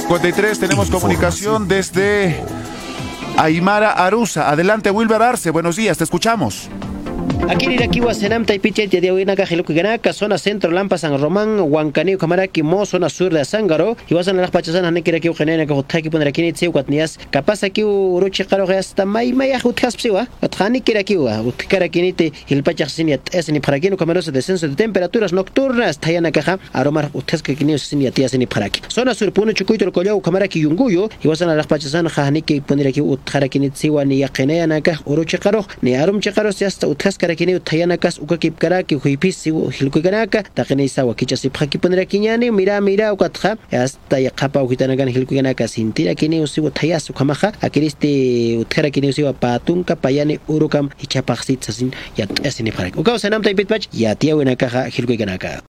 53, tenemos comunicación desde Aymara Arusa. Adelante, Wilber Arce, buenos días, te escuchamos. Aquí Iraquiwa Senam Taipiche de Huinaca Gilucanaka, zona centro Lampa San Román, Huancaneo Camaraki, Mo, zona sur de Zángaro, y vas a las Pachasanas Nekiraki Genena Kotaki Ponrakini Tsehuatnias, capaz aquí Uruchi Caro hasta Maya Huthaspsiwa, Otrani Kirakiwa, Utkarakinite, el Pachasiniat, Esni Parakino, Cameros de descenso de temperaturas nocturnas, Tayana Caja, Aromar Utaskinio Siniatias en Paraki. Zona sur Puno Chucuito, el Collao, Camaraki Yunguyo, y vas a las Pachasanas Haniki Ponraki Utkarakini Tsewa, ni Yakenea Naka, Uruchi Caro, ni Arum Chekaros, hasta Utaskara. Kini utayanakas ukakip karaki huipisi hilkuganaka takenisa wakichasi phaki ponera kiñani mira ukatja hasta yaqapa ukitanagan hilkuganaka sintira kini usi utayas ukamaja akiristi utkara kini usi patunka payani urukam hichapaqsit sasin yat esini pharak ukaw sanam taipit pach yatia winaka hilkuganaka.